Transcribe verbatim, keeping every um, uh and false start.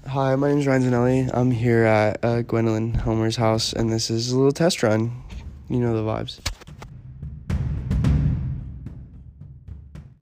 Hi, my name is Ryan Zanelli. I'm here at uh, Gwendolyn Homer's house, and this is a little test run. You know the vibes.